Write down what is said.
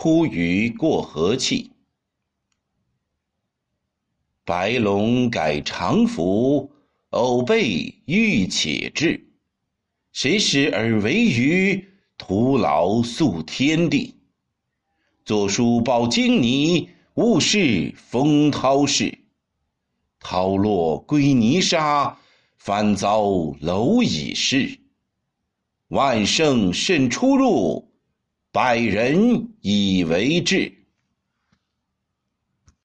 突于过河气。白龙改常服，偶备欲且至。谁使而为鱼，徒劳诉天地。作书报经泥，勿视风涛事。涛落归泥沙，翻遭蝼蚁噬。万圣甚出入，百人以为治。